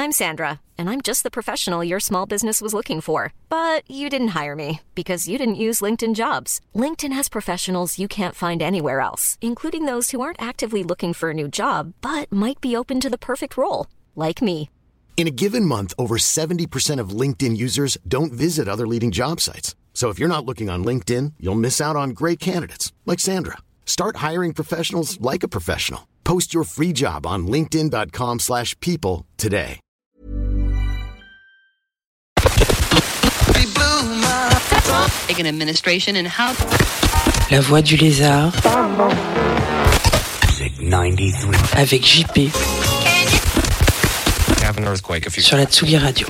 I'm Sandra, and I'm just the professional your small business was looking for. But you didn't hire me because you didn't use LinkedIn Jobs. LinkedIn has professionals you can't find anywhere else, including those who aren't actively looking for a new job, but might be open to the perfect role, like me. In a given month, over 70% of LinkedIn users don't visit other leading job sites. So if you're not looking on LinkedIn, you'll miss out on great candidates like Sandra. Start hiring professionals like a professional. Post your free job on linkedin.com/people today. La Voix du Lézard avec JP sur la Tsugi Radio.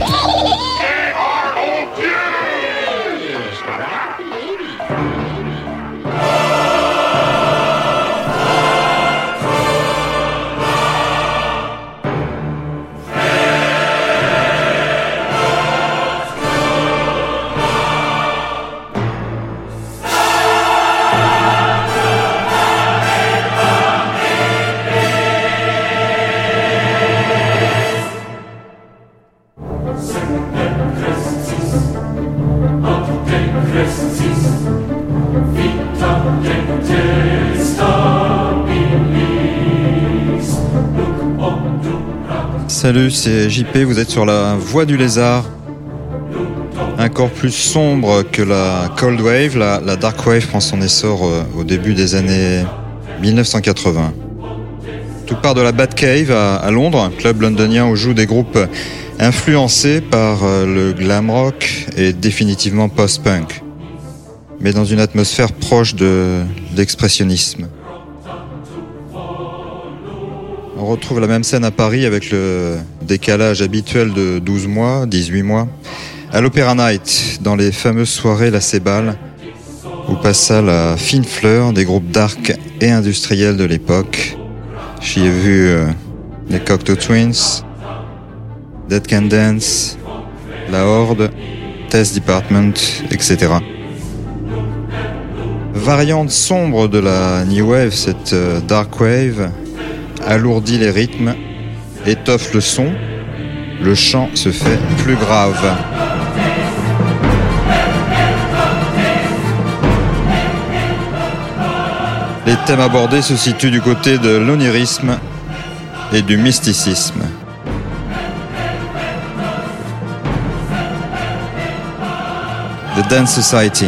Salut, c'est JP, vous êtes sur la Voix du Lézard. Encore plus sombre que la Cold Wave, la Dark Wave prend son essor au début des années 1980. Tout part de la Batcave à Londres, un club londonien où jouent des groupes influencés par le glam rock et définitivement post-punk, mais dans une atmosphère proche d'expressionnisme. On retrouve la même scène à Paris avec le décalage habituel de 12 mois, 18 mois, à l'Opéra Night, dans les fameuses soirées La Cébale, où passa la fine fleur des groupes dark et industriels de l'époque. J'y ai vu les Cocteau Twins, Dead Can Dance, La Horde, Test Department, etc. Variante sombre de la New Wave, cette Dark Wave alourdit les rythmes, étoffe le son, le chant se fait plus grave. Les thèmes abordés se situent du côté de l'onirisme et du mysticisme. The Dance Society.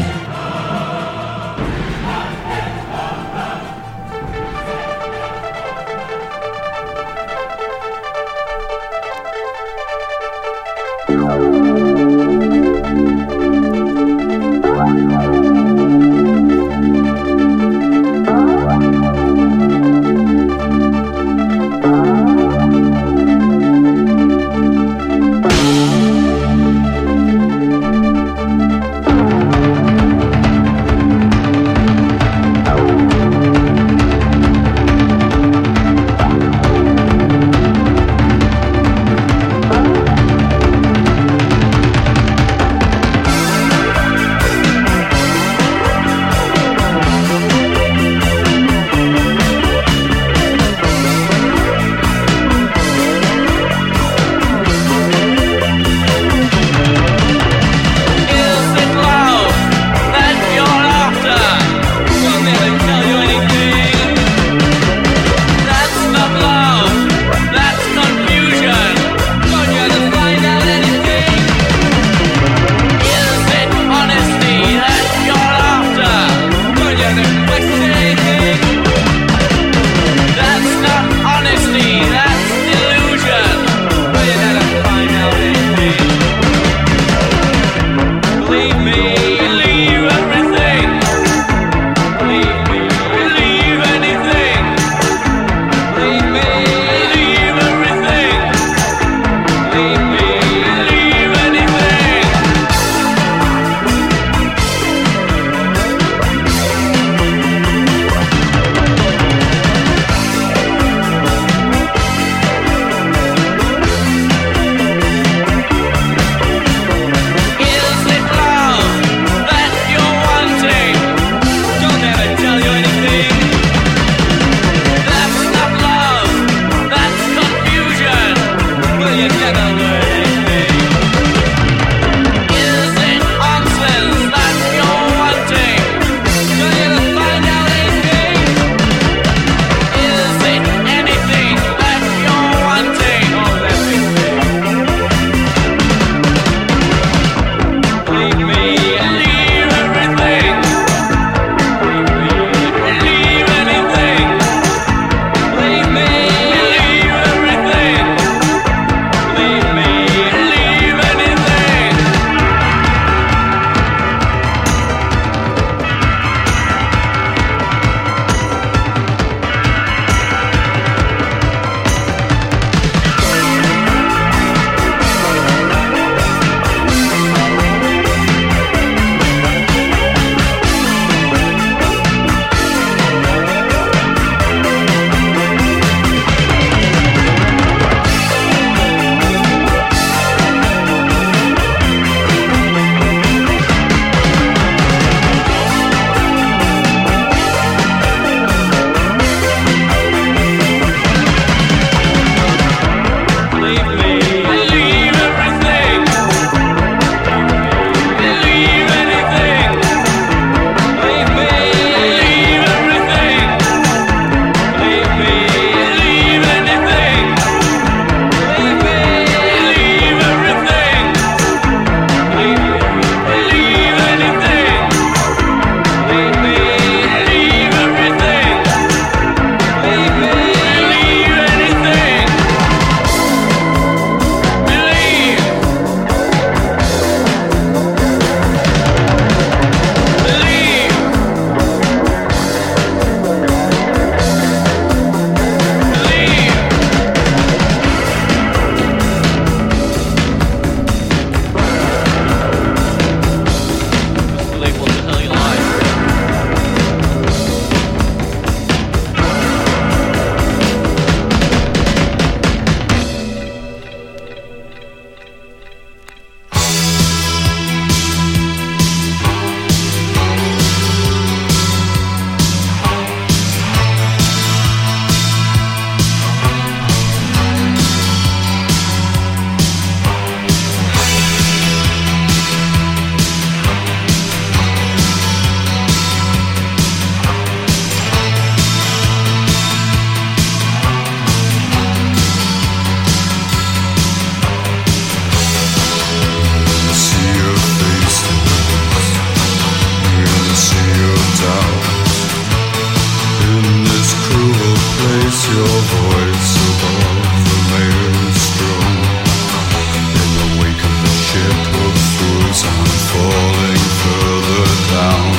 as I'm falling further down.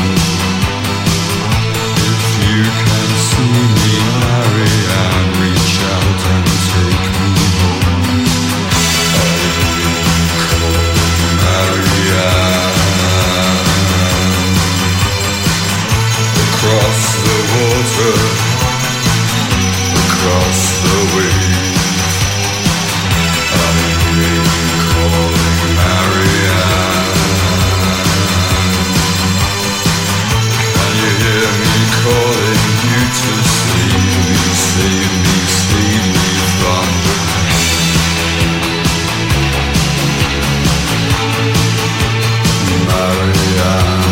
If you can see me, Marianne, reach out and take me home. Marianne, across the water, across the waves, I'm calling Marianne. Can you hear me calling you to save me, save me, save me from the pain? Marianne.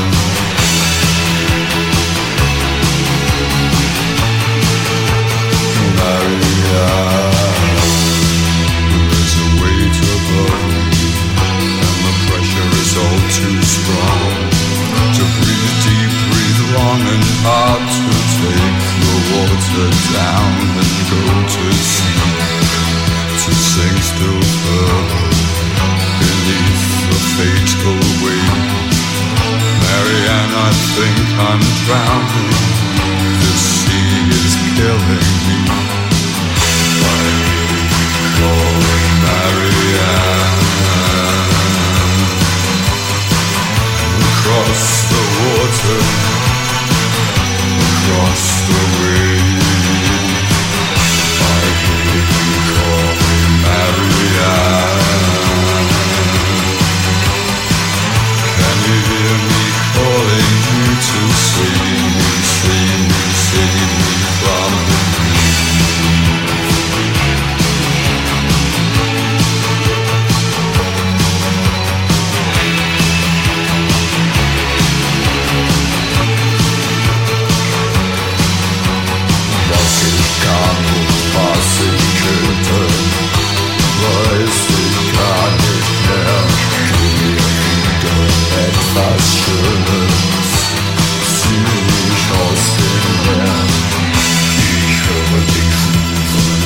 There's a weight above me, and the pressure is all too strong. To breathe deep, breathe long and hard, to take the water down and go to sea, to sink still further beneath the fatal wave. Marianne, I think I'm drowning. This sea is killing me. Calling Marianne. Across the water, across the wave, I hear you calling Marianne. Can you hear me calling you to save me, save me, save me from the weiß ich gar nicht mehr, etwas Schönes ziemlich aus dem Meer. Ich höre dich rufen,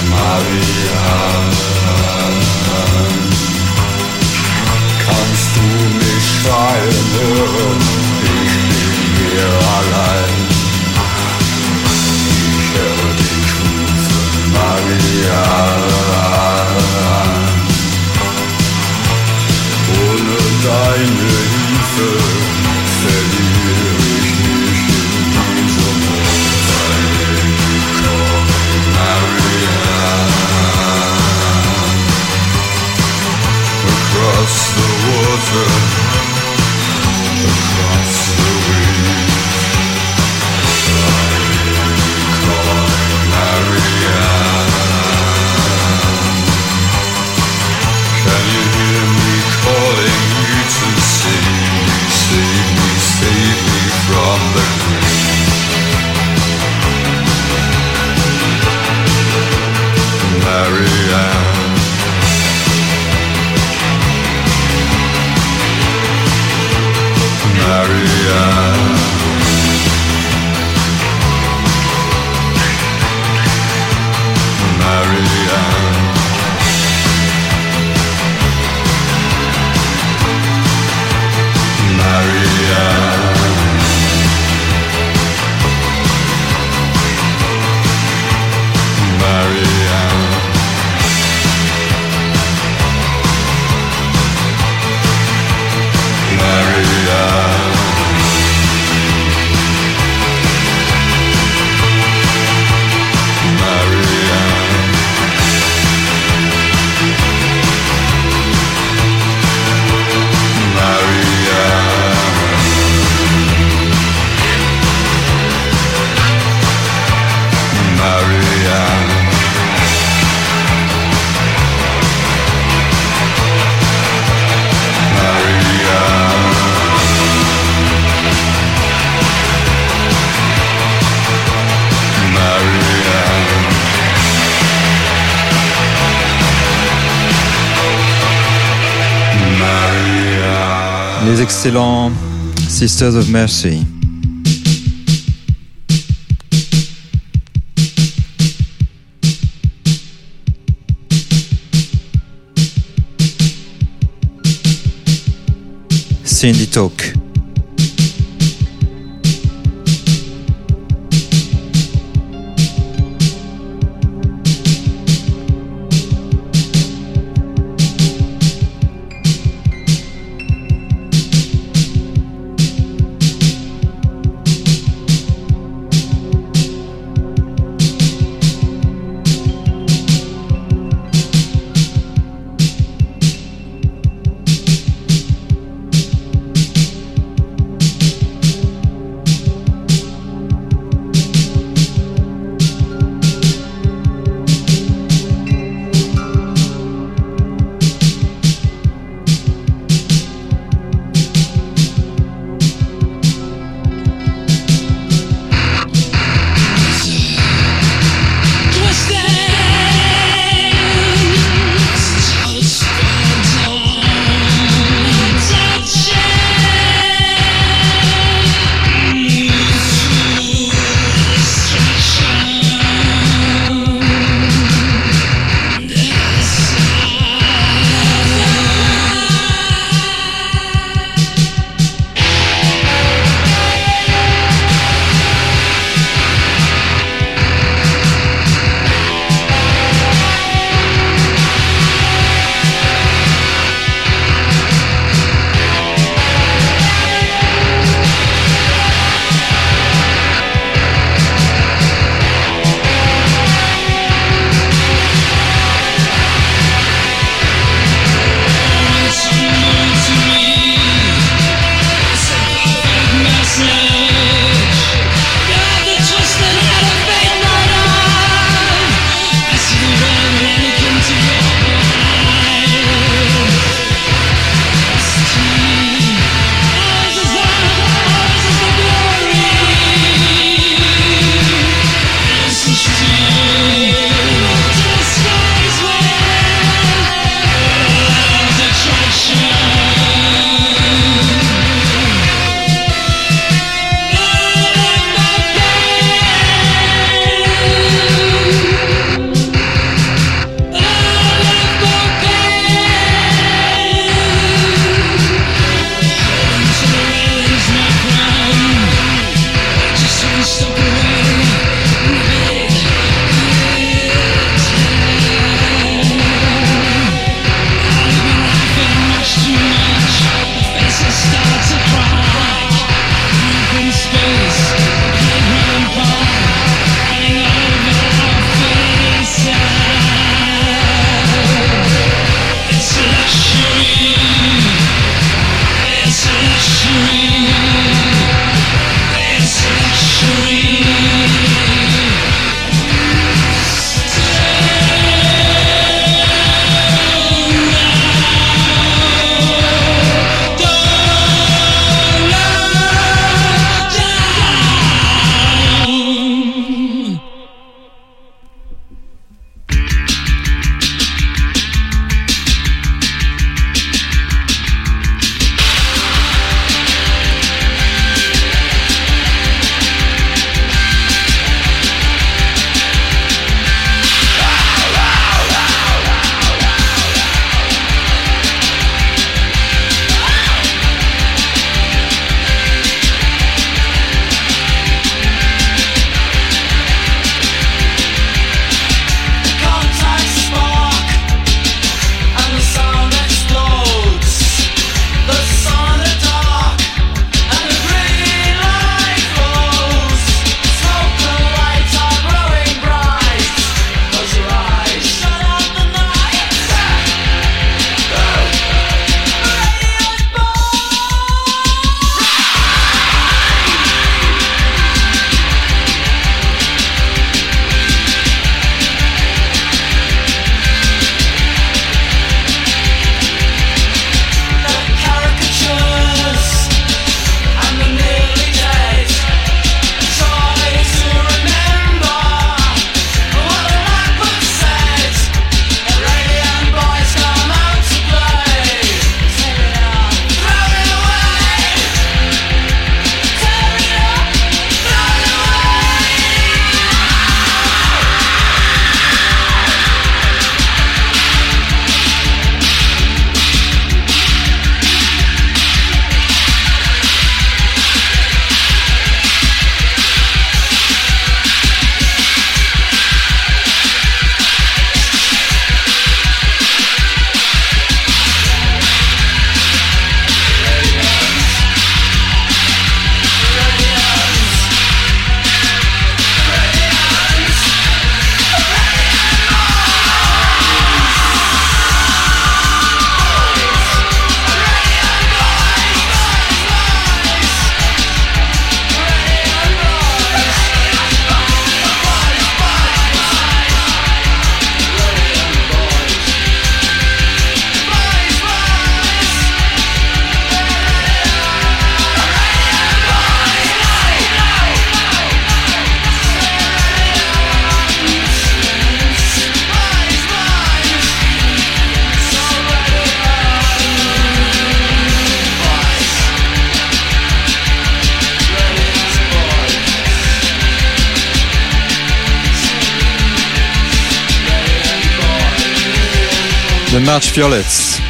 Marianne. Kannst du mich schreien hören? Ich bin hier allein. Ich höre dich rufen, Marianne. Ohne deine Hilfe verliere ich mich in diesem Marianne. Across the water, across the waves, I'm calling Marianne. Can you hear me calling you to save me, save me, save me from the grave? Marianne. Marianne. Marianne. Les excellents Sisters of Mercy. c'est Indie Talk. March Violets.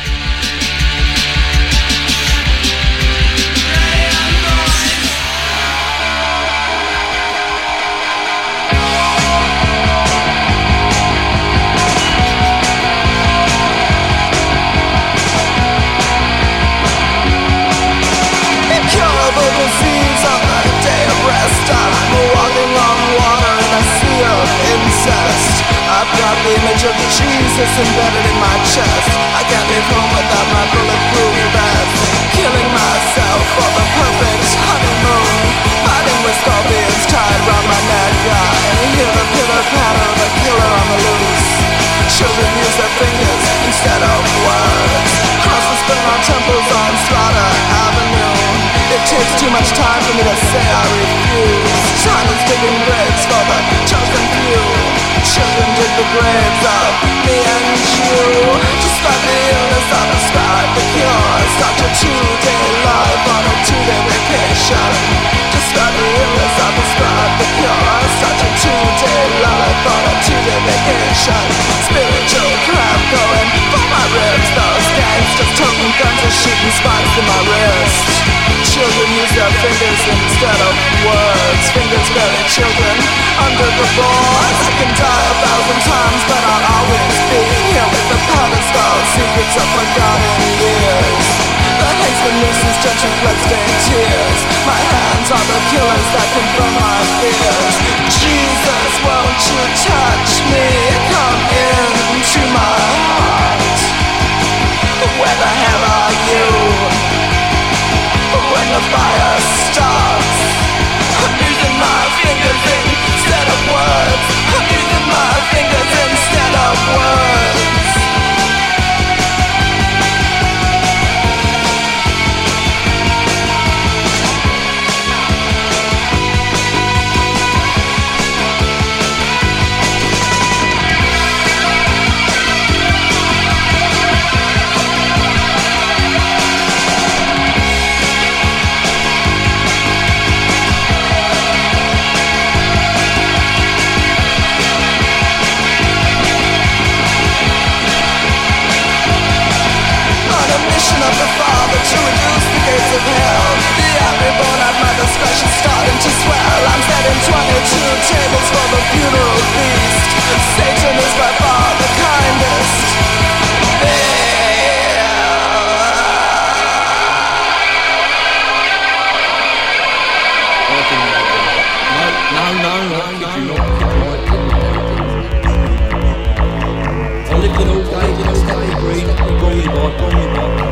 I've got the image of Jesus embedded in my chest. I can't leave home without my bulletproof vest. Killing myself for the perfect honeymoon. Fighting with scorpions tied round my neck. I hear the pitter-patter of a killer on the loose. Children use their fingers instead of words. Crosses burn on temples on Slaughter Avenue. It takes too much time for me to say I refuse. Time is digging graves for the chosen few. Children dig the graves of me and you. Describe the illness, I'll describe the cure. Start your 2-day life on a 2-day vacation. Describe the illness, I'll describe the cure. Start your 2-day life on a 2-day vacation. Spiritual crap going for my ribs. Those gangsters toting guns and shooting spikes in my wrist. Children use their fingers instead of words. Fingers bury children under the boards. I can die 1,000 times, but I'll always be here with the powder skull secrets of forgotten years. The hasten nooses touching bloodstained tears. My hands are the killers that confirm my fears. Jesus, won't you touch me? Come into my heart. Where the hell are you? When the fire starts, I'm using my fingers instead of words. I'm using my fingers instead of words. Of the Father to reduce the gates of hell. The angry bone at my discretion starting to swell. I'm setting 22 tables for the funeral feast. Satan is by far the kindest. No, could you not? I lived in all day, green, brought me by.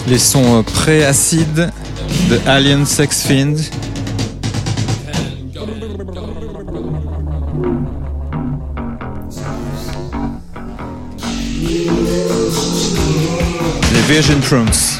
Les sons pré-acide de Alien Sex Fiend. Les Virgin Prunes.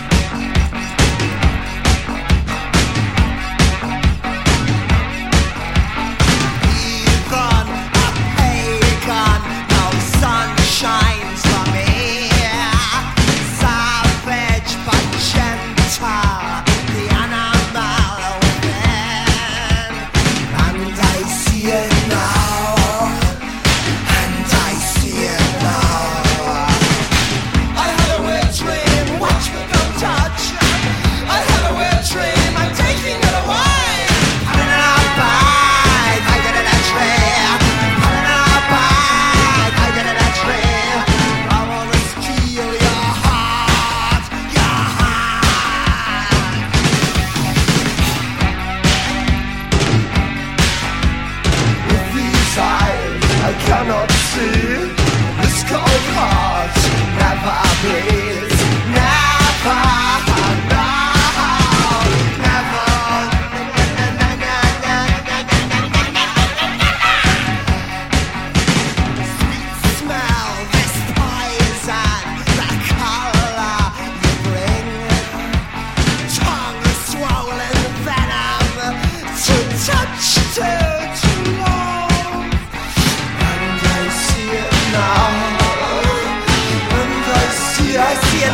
I see it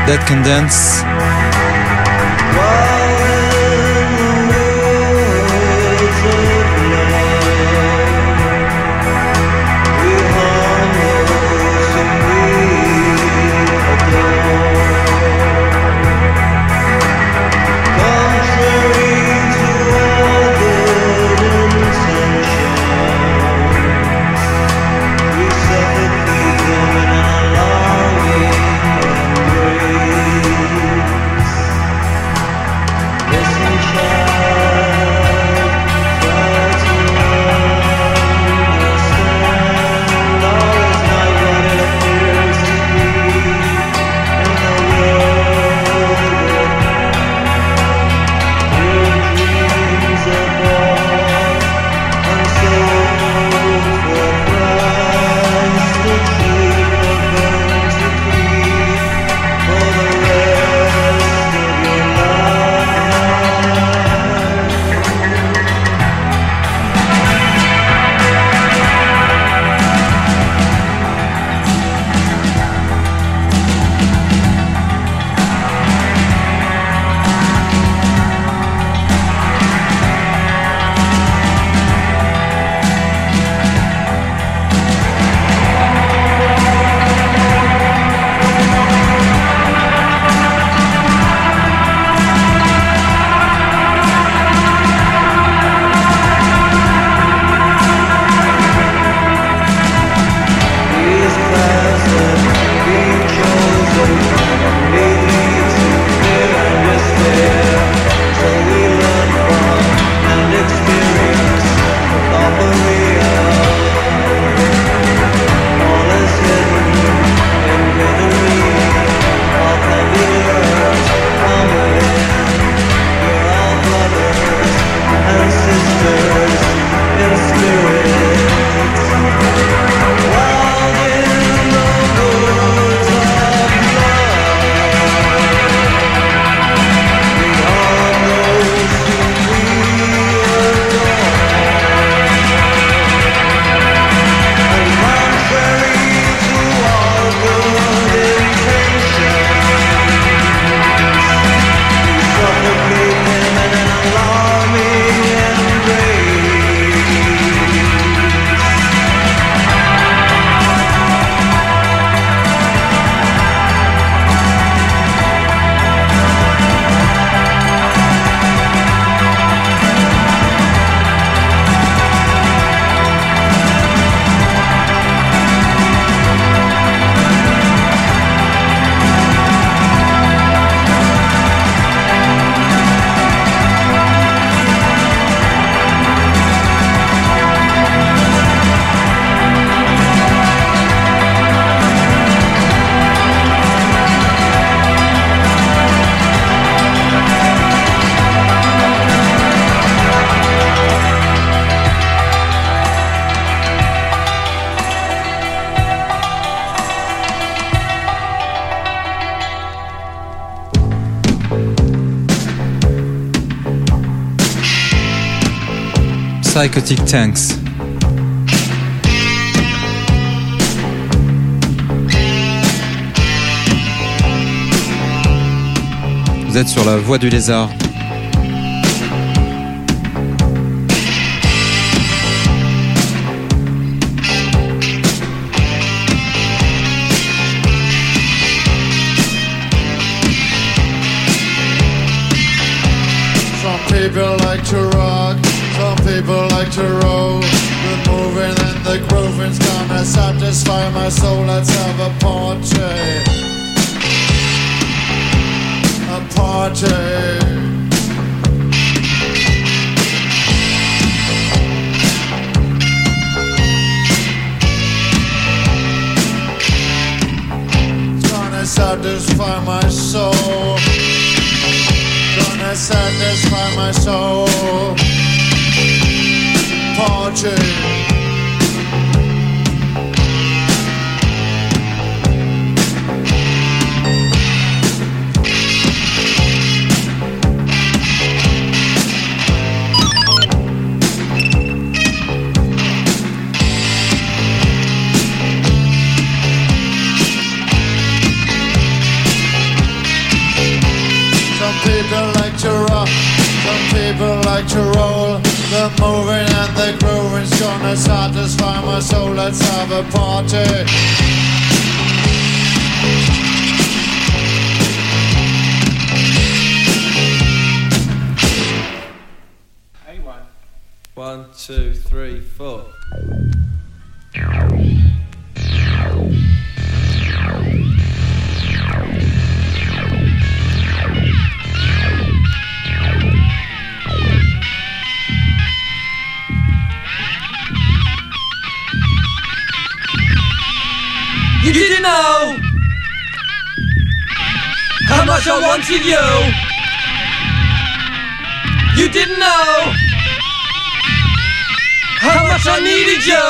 Dead Can Dance. Psychotic Tanks. Vous êtes sur la voie du lézard. Some people like to rock, some people like to roll. The moving and the grooving's gonna satisfy my soul. Let's have a party. A party. Satisfy my soul, gonna satisfy my soul. Party. like to roll. The moving and the grooving's gonna satisfy my soul. Let's have a party. A1. 1, 2, 3, 4. You didn't know how much I wanted you. You didn't know how much I needed you.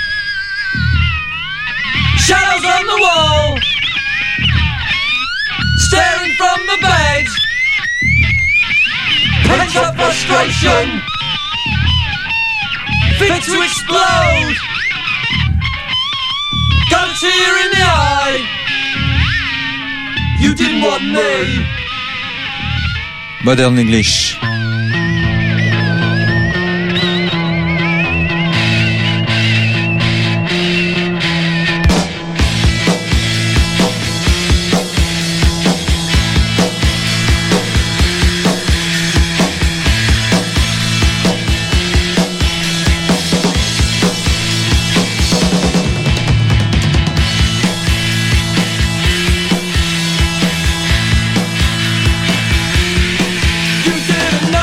Shadows on the wall, staring from the bed. Pent up frustration, fit to explode. Got a tear in the eye. You didn't want me. Modern English. You didn't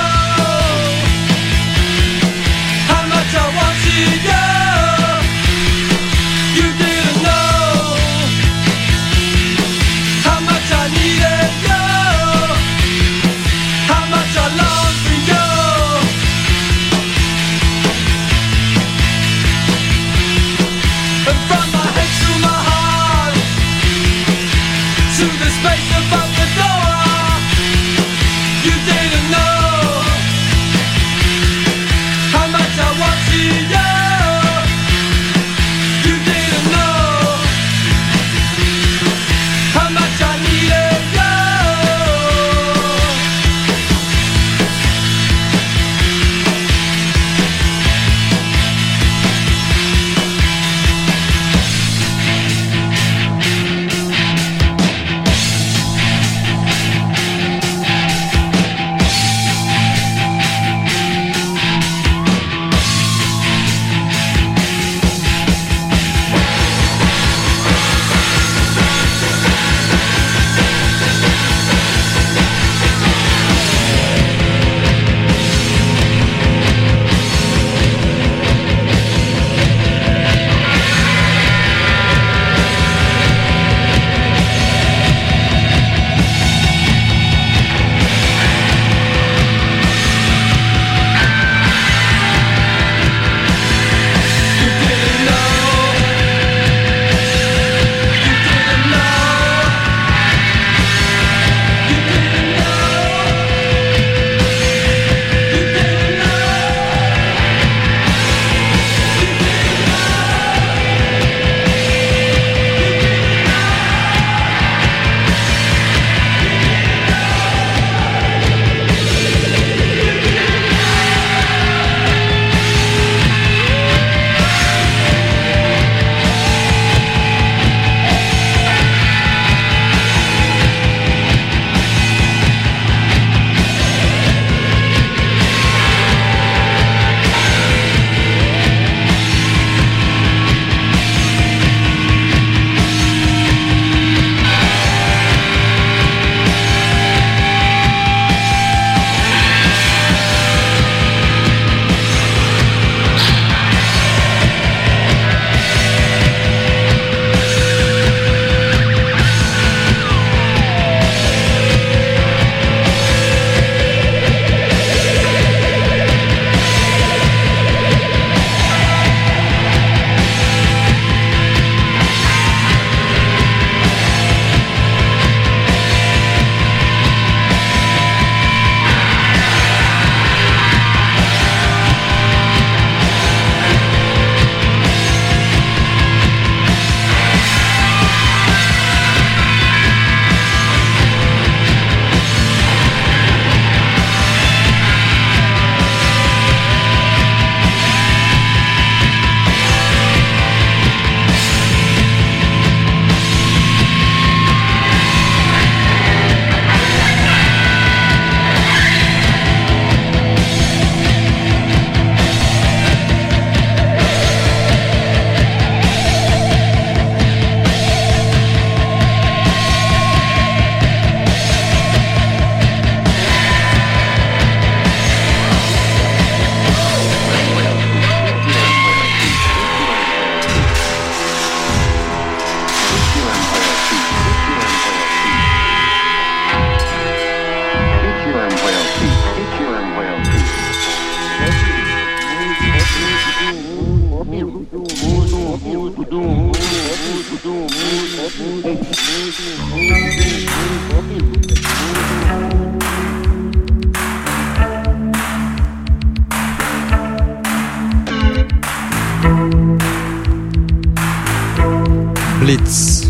Blitz.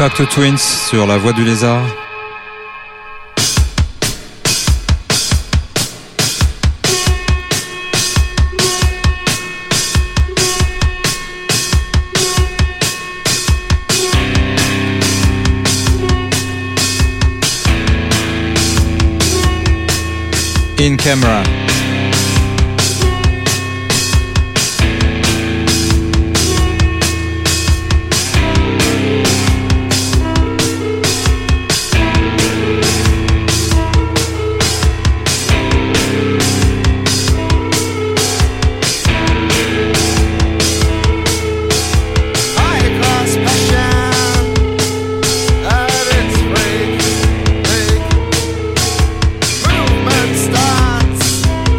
Cocteau Twins sur la Voie du Lézard. In Camera. Movement starts.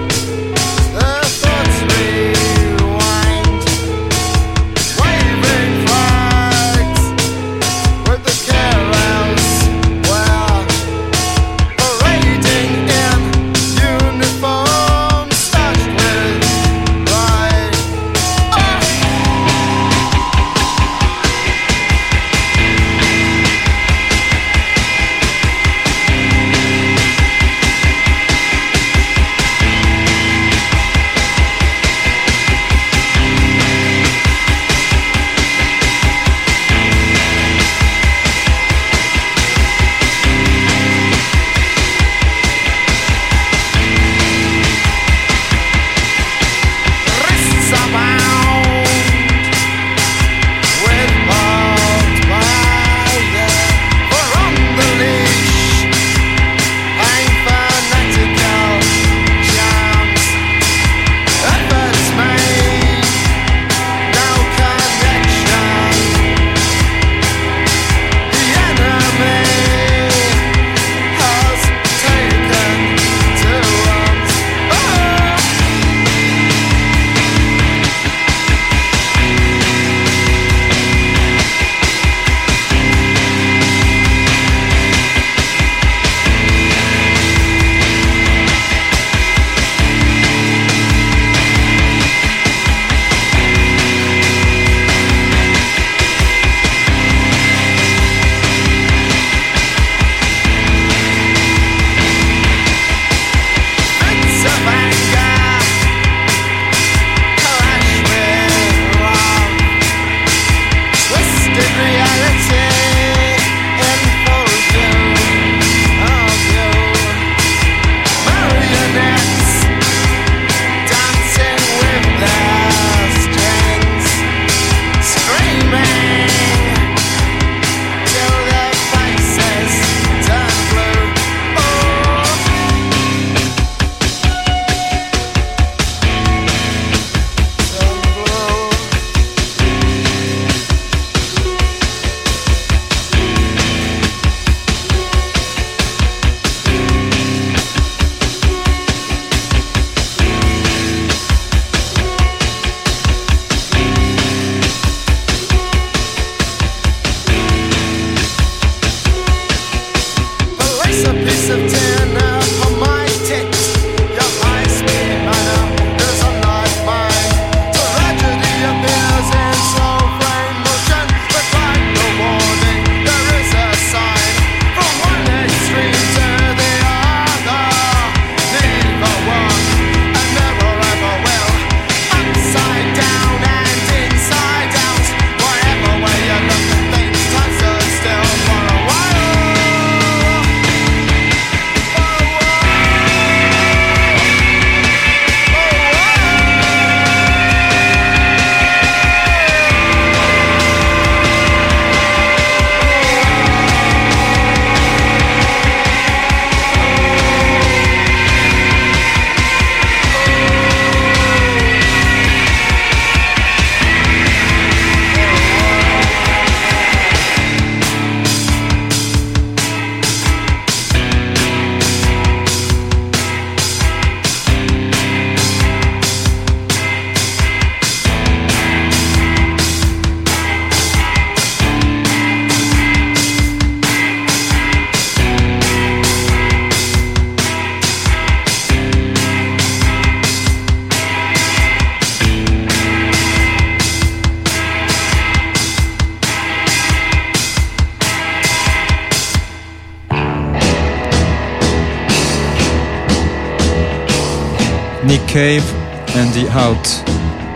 Nick Cave and The Out.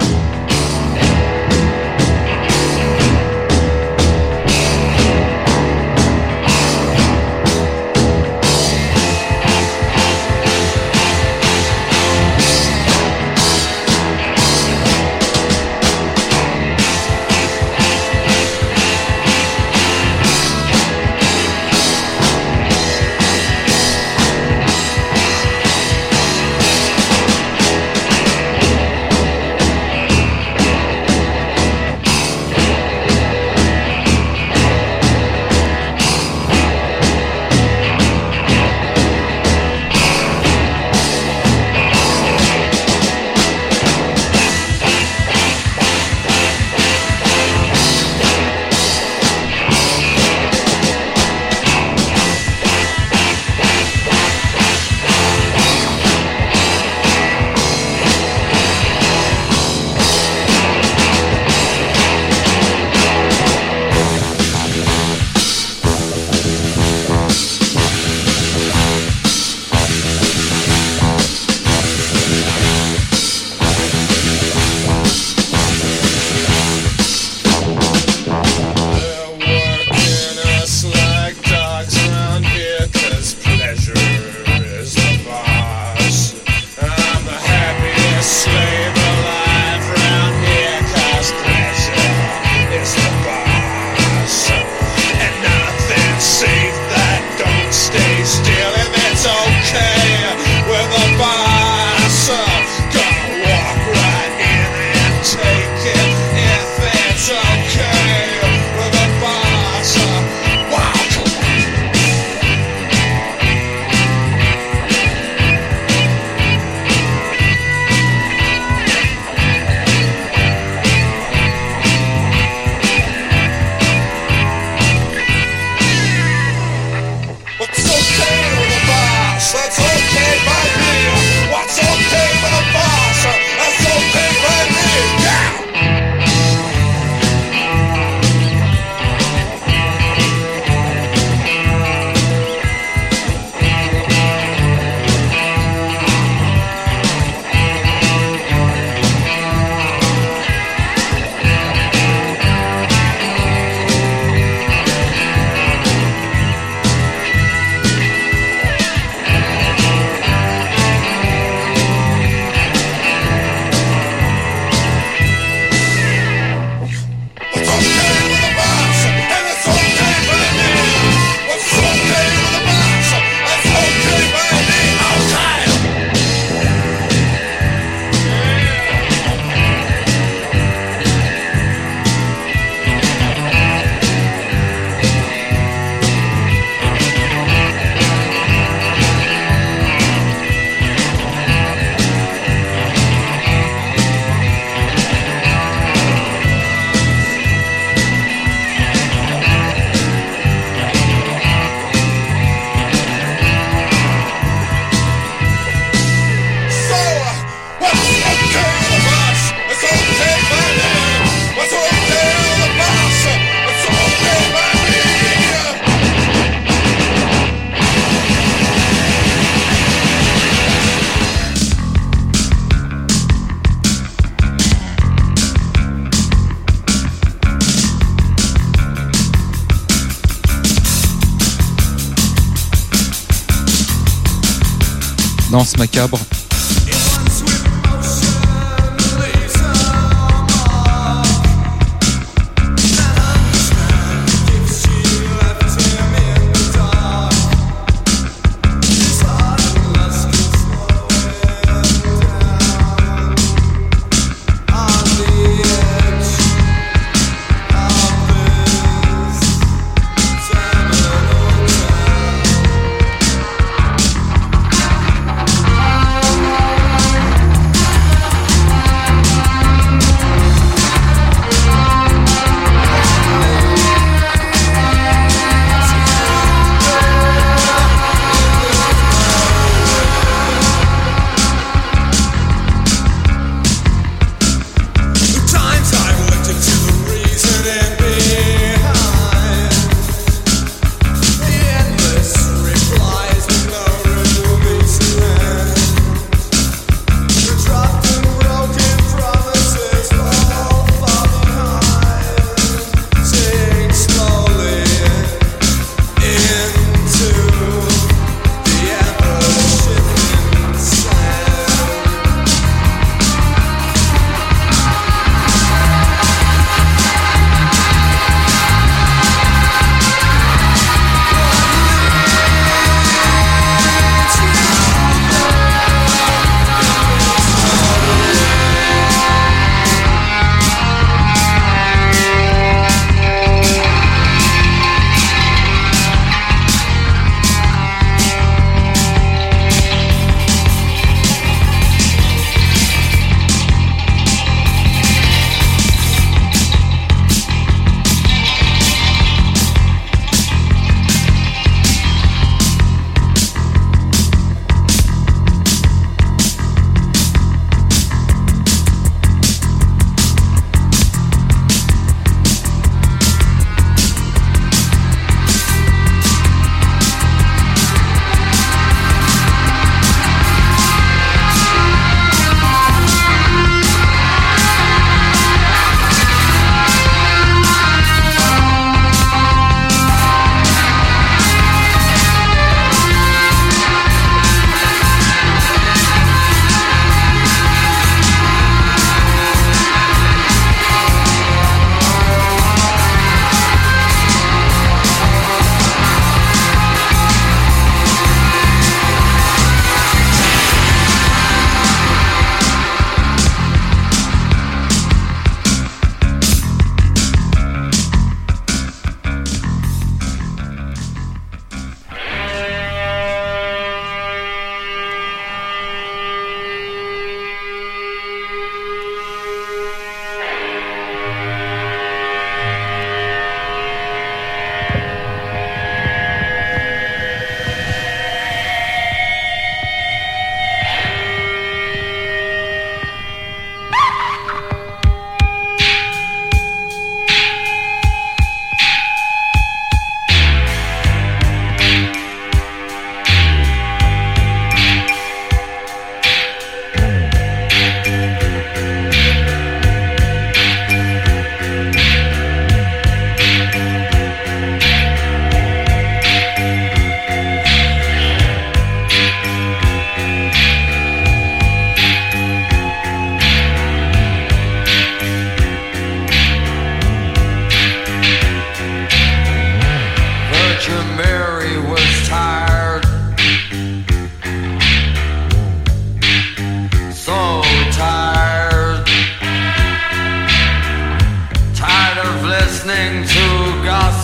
Danse macabre.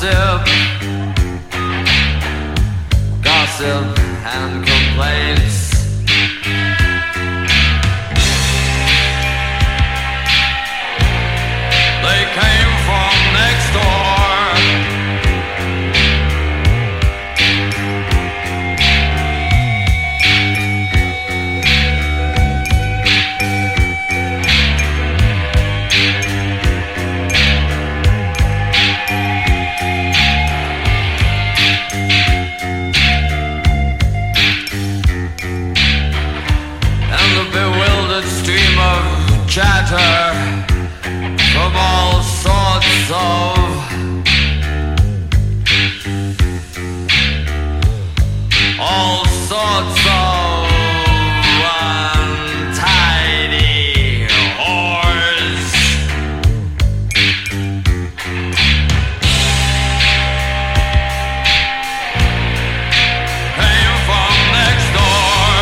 gossip, gossip and complaints. They came from next door. Chatter from all sorts of untidy whores. Came from next door.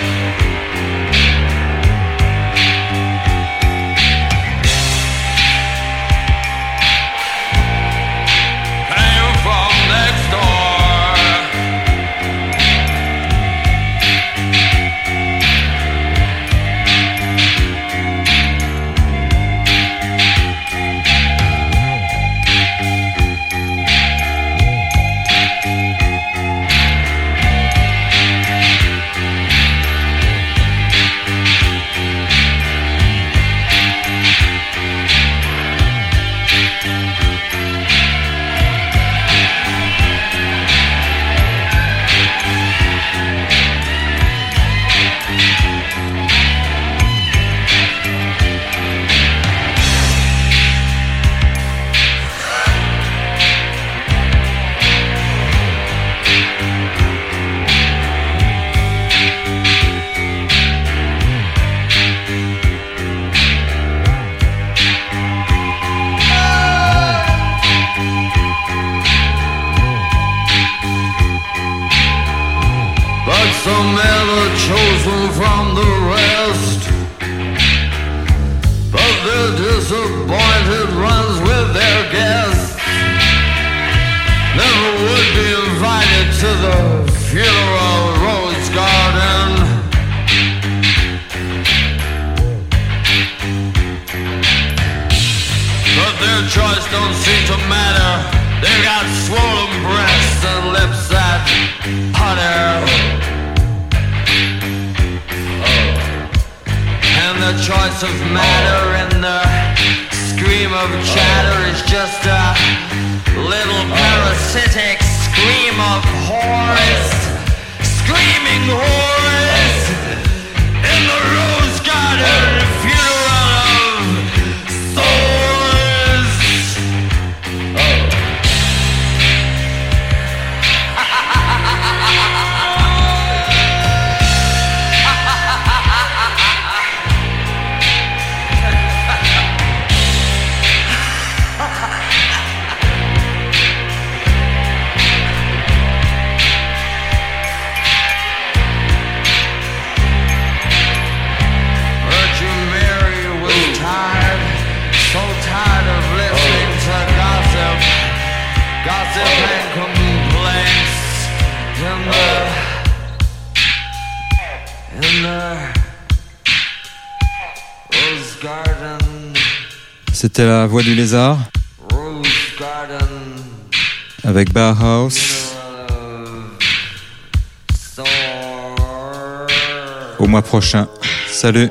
Some ever chosen from the rest, but their disappointed runs with their guests. Never would be invited to the funeral rose garden. But their choice don't seem to matter. They've got swollen breasts and lips that putter. The choice of matter and the scream of chatter is just a little parasitic scream of whores, screaming whores in the rose garden funeral of swords. Gossip and complaints in the Rose Garden. C'était la Voix du Lézard Rose Garden avec Bauhaus. Au mois prochain. Salut.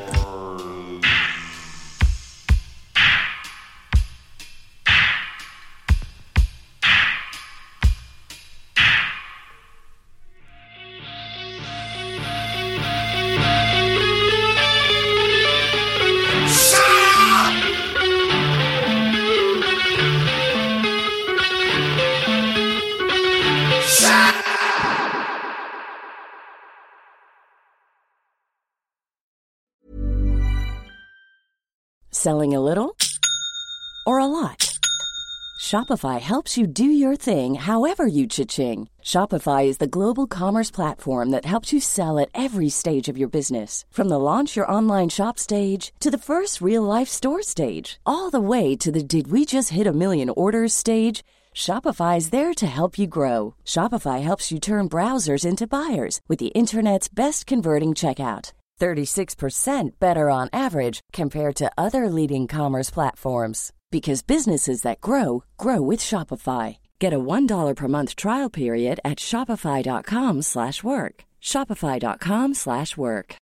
Selling a little or a lot? Shopify helps you do your thing however you cha-ching. Shopify is the global commerce platform that helps you sell at every stage of your business. From the launch your online shop stage to the first real life store stage, all the way to the did we just hit a million orders stage. Shopify is there to help you grow. Shopify helps you turn browsers into buyers with the internet's best converting checkout. 36% better on average compared to other leading commerce platforms. Because businesses that grow, grow with Shopify. Get a $1 per month trial period at shopify.com/work. Shopify.com/work.